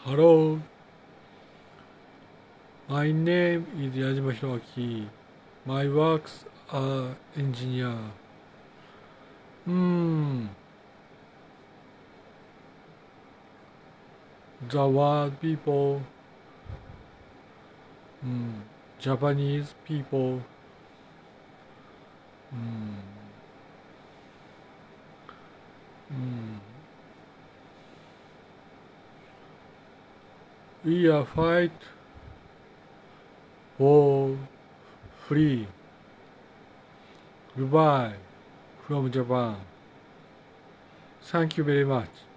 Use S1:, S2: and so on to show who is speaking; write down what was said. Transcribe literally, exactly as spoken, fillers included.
S1: Hello, my name is Yajima Hiroaki. My works are engineer. Hmm, the word people, hmm, Japanese people, hmm, hmm. We are fight for free. Goodbye from Japan. Thank you very much.